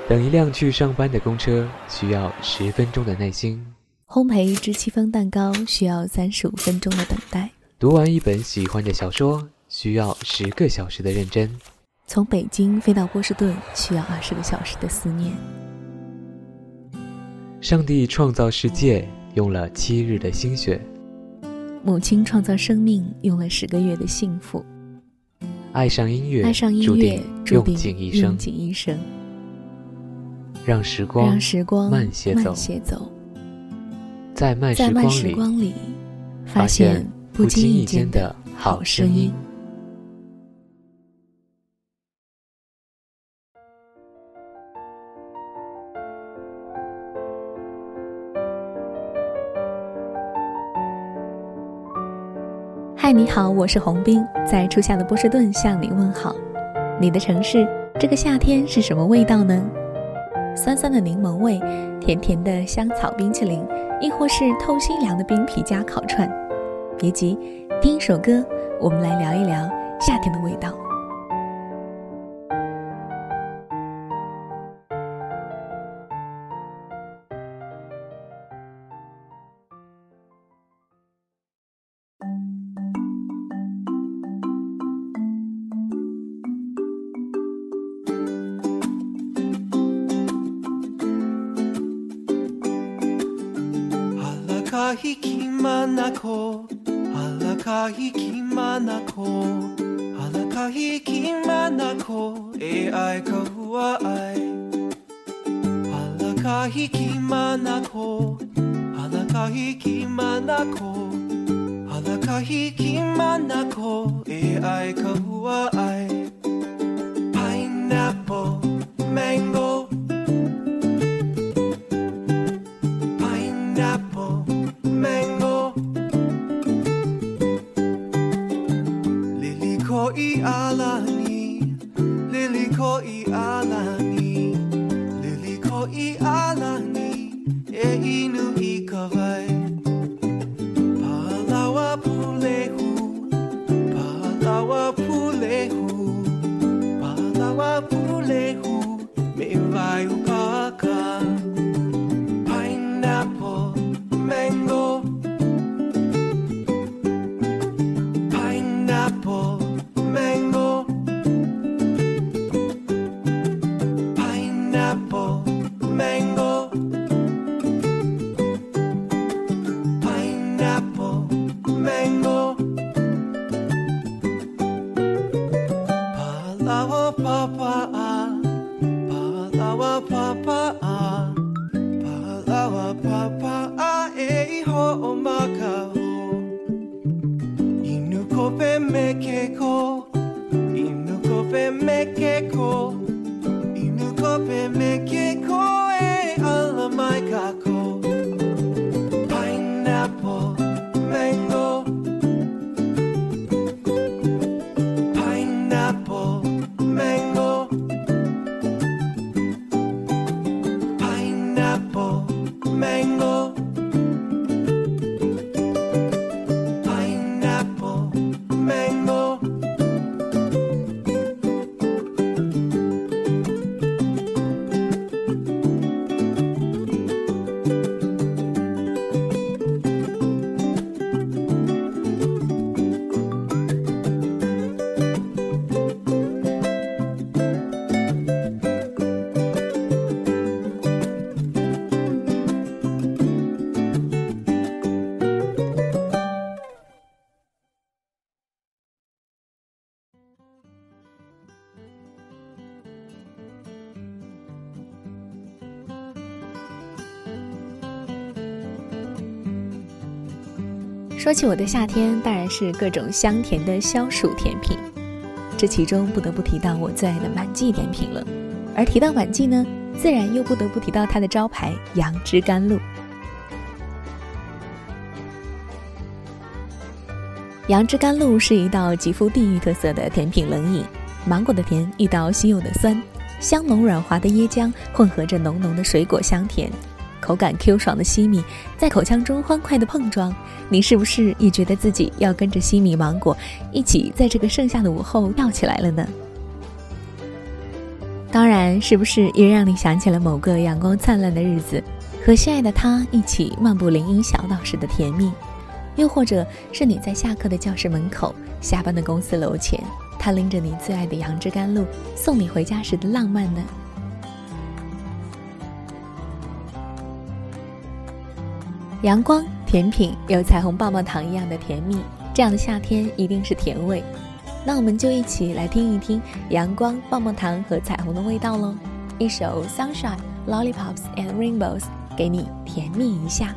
等一辆去上班的公车需要10分钟的耐心， 烘焙一只戚风蛋糕需要35分钟的等待， 读完一本喜欢的小说需要10个小时的认真， 从北京飞到波士顿需要20个小时的思念。 上帝创造世界用了7日的心血， 母亲创造生命用了10个月的幸福， 爱上音乐注定用尽一生，让时光慢些走，在慢时光里发现不经意间的好声音。 嗨，你好，我是洪斌，在初夏的波士顿向你问好。你的城市这个夏天是什么味道呢？酸酸的柠檬味，甜甜的香草冰淇淋，亦或是透心凉的冰皮加烤串。别急，听一首歌，我们来聊一聊夏天的味道。 Halakhikmanako Halakhikmanako ai kahua ai Halakhikmanako ai kahua ai Pineapple mango 说起我的夏天，当然是各种香甜的消暑甜品，这其中不得不提到我最爱的满记甜品了。而提到满记呢，自然又不得不提到它的招牌杨枝甘露。杨枝甘露是一道极富地域特色的甜品冷饮，芒果的甜遇到西柚的酸，香浓软滑的椰浆混合着浓浓的水果香甜，口感 Q 爽的西米在口腔中欢快的碰撞，你是不是也觉得自己要跟着西米芒果一起在这个盛夏的午后跳起来了呢？ 当然，是不是也让你想起了某个阳光灿烂的日子，和心爱的他一起漫步林荫小道时的甜蜜？又或者是你在下课的教室门口，下班的公司楼前，他拎着你最爱的杨枝甘露送你回家时的浪漫呢？阳光、甜品，有彩虹棒棒糖一样的甜蜜，这样的夏天一定是甜味。那我们就一起来听一听阳光、棒棒糖和彩虹的味道咯。一首 Sunshine, Lollipops and Rainbows 给你甜蜜一下。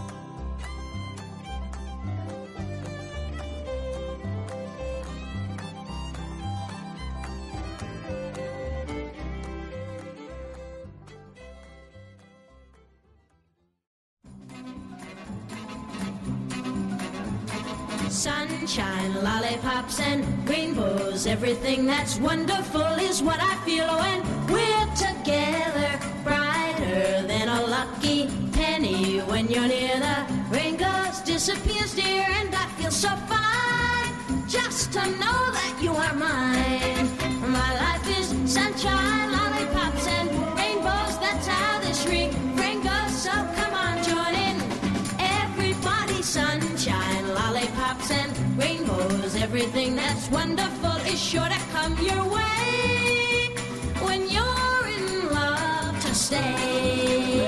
Sunshine, lollipops, and rainbows. Everything that's wonderful is what I feel when we're together. Brighter than a lucky penny when you're near. The rain goes, disappears, dear, and I feel so fine just to know that you are mine. My life is sunshine, lollipops, and rainbows. That's how this refrain goes. So come on, join in. Everybody, sunshine, lollipops, and rainbows. Everything that's wonderful is sure to come your way when you're in love to stay.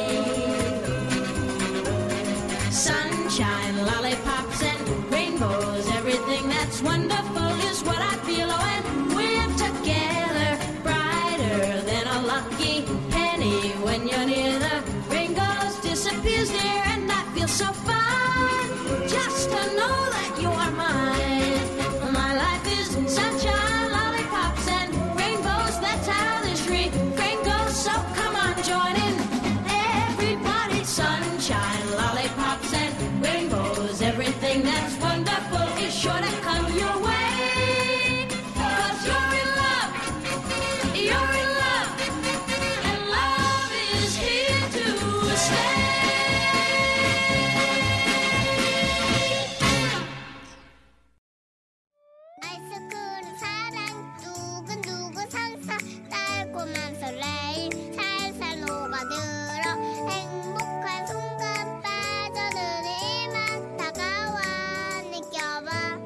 Sunshine, lollipops, and rainbows. Everything that's wonderful is what I feel when we're together. Brighter than a lucky penny when you're near. The rain goes, disappears, dear, and I feel so fine just to know that you are mine. My life is sunshine, lollipops, and rainbows. That's how this refrain goes. So come on, join in. Everybody, sunshine, lollipops, and rainbows. Everything that's wonderful is sure to come your way. 'Cause you're in love, you're in love, and love is here to stay. 아이스크림 사랑 두근두근 상상 달콤한 설레임 살살 녹아들어 행복한 순간 빠져드니만 다가와 느껴봐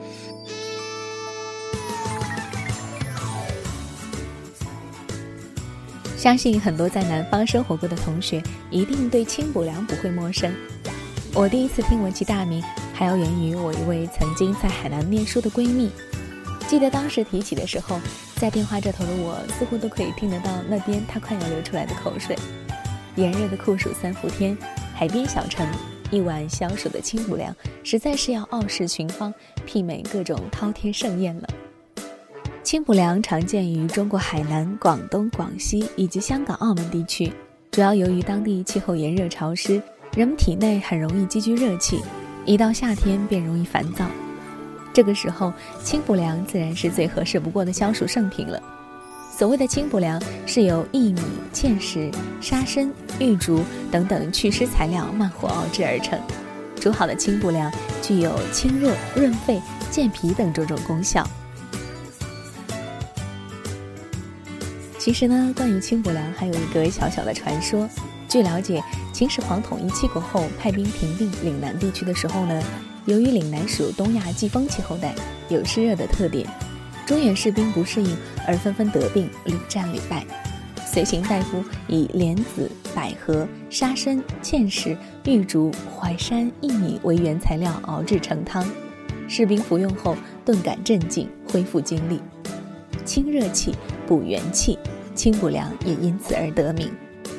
相信很多在南方生活过的同学一定对清补凉不会陌生。我第一次听闻其大名，还要源于我一位曾经在海南念书的闺蜜。记得当时提起的时候，在电话这头的我似乎都可以听得到那边她快要流出来的口水。炎热的酷暑三伏天，海边小城，一碗消暑的清补凉，实在是要傲视群芳，媲美各种饕餮盛宴了。清补凉常见于中国海南、广东、广西以及香港、澳门地区，主要由于当地气候炎热潮湿，人们体内很容易积聚热气，一到夏天便容易烦躁。这个时候，清补凉自然是最合适不过的消暑圣品了。所谓的清补凉是由薏米、芡实、沙参、玉竹等等祛湿材料慢火熬制而成。煮好的清补凉具有清热、润肺、健脾等种种功效。其实呢，关于清补凉还有一个小小的传说。据了解，秦始皇统一七国后派兵平定岭南地区的时候呢，由于岭南属东亚季风气候带，有湿热的特点，中原士兵不适应而纷纷得病，屡战屡败。随行大夫以莲子、百合、沙参、芡实、玉竹、淮山、薏米为原材料熬制成汤，士兵服用后顿感镇静，恢复精力，清热气、补元气，清补凉也因此而得名。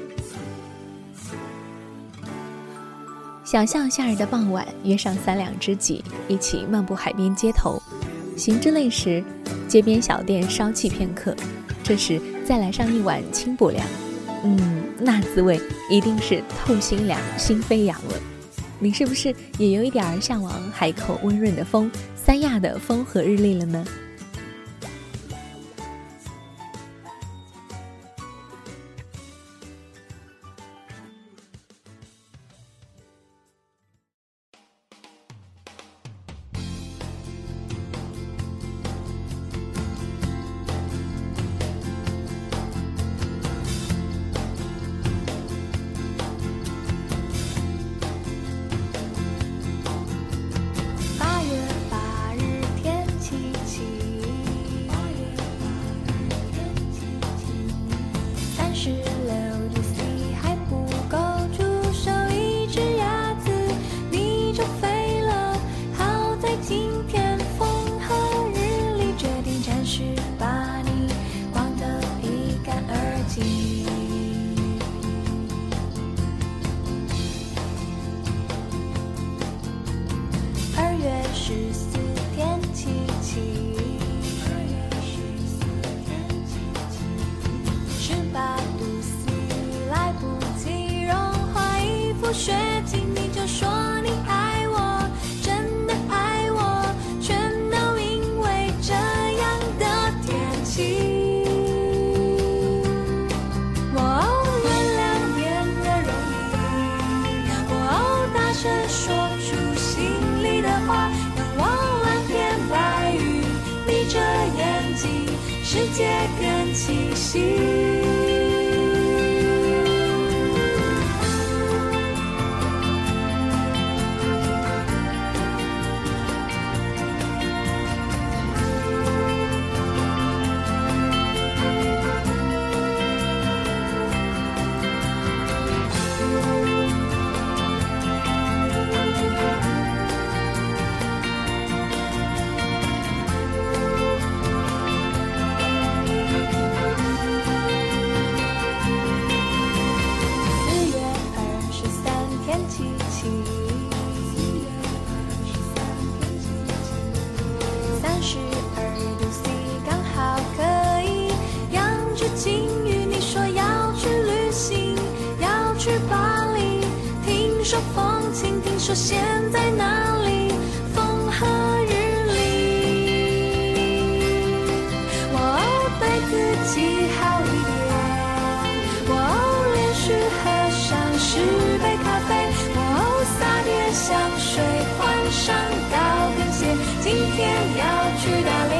想象夏日的傍晚，约上3两知己，一起漫步海边街头，行至累时，街边小店稍憩片刻，这时再来上一碗清补凉，那滋味一定是透心凉、心飞扬了。你是不是也有一点向往海口温润的风、三亚的风和日丽了呢？ 心。说现在哪里风和日丽，哇哦，对自己好一点，哇哦，连续喝上10杯咖啡，哇哦，撒点香水，换上高跟鞋，今天要去打猎。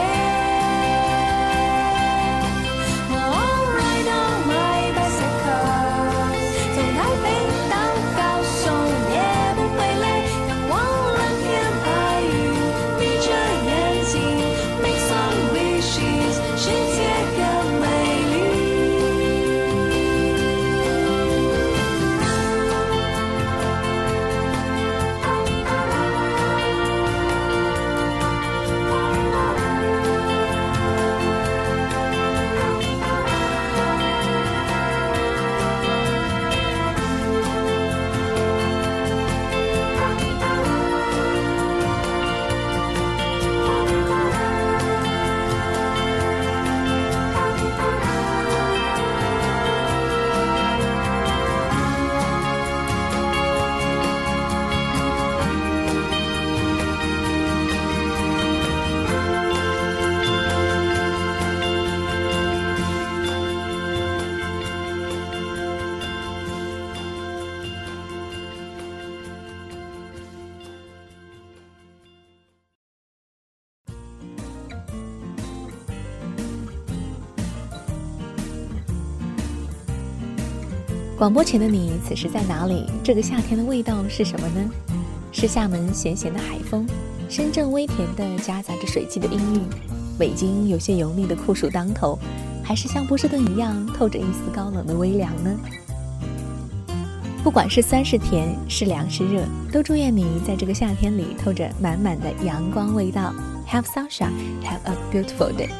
广播前的你此时在哪里？这个夏天的味道是什么呢？是厦门咸咸的海风，深圳微甜的夹杂着水汽的氤氲，北京有些油腻的酷暑当头，还是像波士顿一样透着一丝高冷的微凉呢？不管是酸是甜，是凉是热，都祝愿你在这个夏天里透着满满的阳光味道。 Have sunshine, have a beautiful day。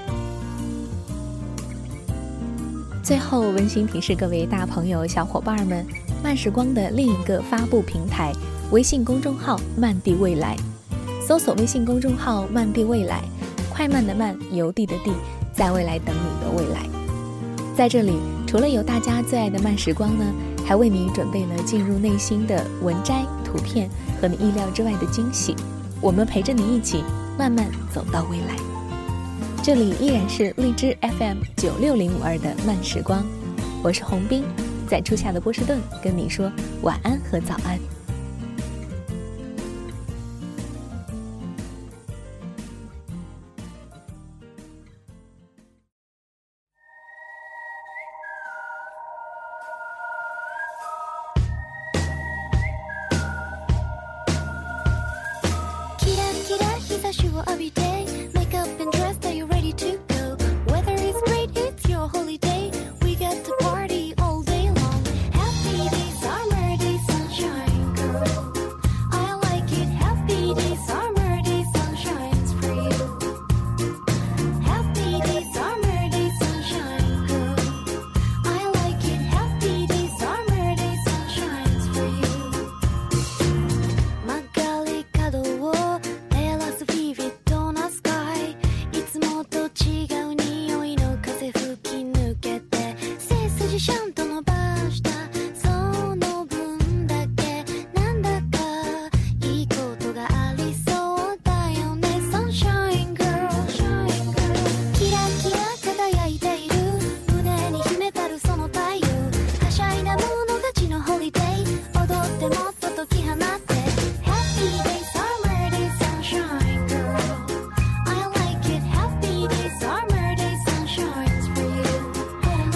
最后温馨提示各位大朋友小伙伴们，慢时光的另一个发布平台微信公众号慢地未来，搜索微信公众号慢地未来，快慢的慢，邮递的递，在未来等你的未来。在这里除了有大家最爱的慢时光呢，还为你准备了进入内心的文摘、图片和你意料之外的惊喜，我们陪着你一起慢慢走到未来。这里依然是荔枝 FM 96052的慢时光，我是洪斌，在初夏的波士顿跟你说晚安和早安。 キラキラ日差しを浴びて Make up and dress, are you ready to go? Weather is great, it's your holiday. We get to party all day long. Happy days, summer days, sunshine, girl. I like it. Happy days, summer days, sunshine's for you. Happy days, summer days, sunshine, girl. I like it. Happy days, summer days, sunshine's for you. 曲がり角を照らすビビッドなスカイ、いつもと違う匂いの風吹き抜けて、背筋ちゃんと伸ばしたその分だけなんだかいいことがありそうだよね。 Sunshine girl、 キラキラ輝いている胸に秘めたるその太陽、はしゃいだ者たちのホリデー、踊ってもっと解き放って Happy days, summer days, sunshine girl. I like it. Happy days, summer days, sunshine's for you.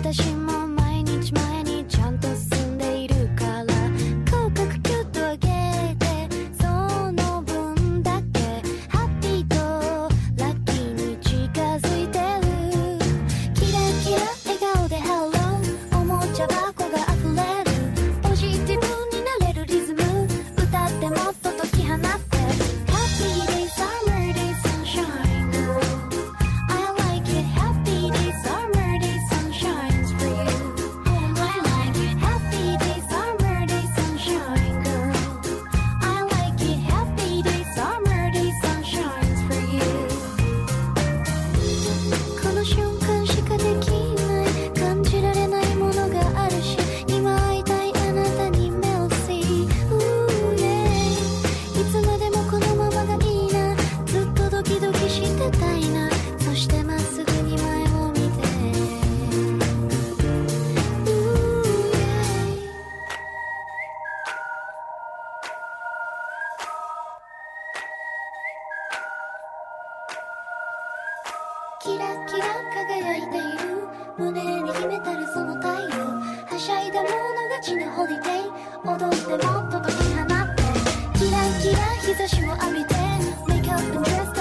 私も毎日前にちゃんと進んでいるから口角キュッと上げてその分だけハッピーとラッキーに近づいてるキラキラ笑顔でハローおもちゃ箱が溢れるポジティブになれるリズム歌ってもっと解き放って Happy days, summer days, sunshine girl I like it Happy days, summer days, sunshine's for you I like it Happy days, summer days, sunshine girl I like it Happy days, summer days, sunshine's for you この瞬間しかできない感じられないものがあるし今会いたいあなたに目を See Ooh yeah いつまでもこのままがいいなずっとドキドキしてたいなそしてまっすぐに前を見て Ooh yeah キラキラ輝いている胸に秘めたるその太陽はしゃいだもの勝ちのホリデー踊ってもっと解き放ってキラキラ日差しを浴びて Make up and dress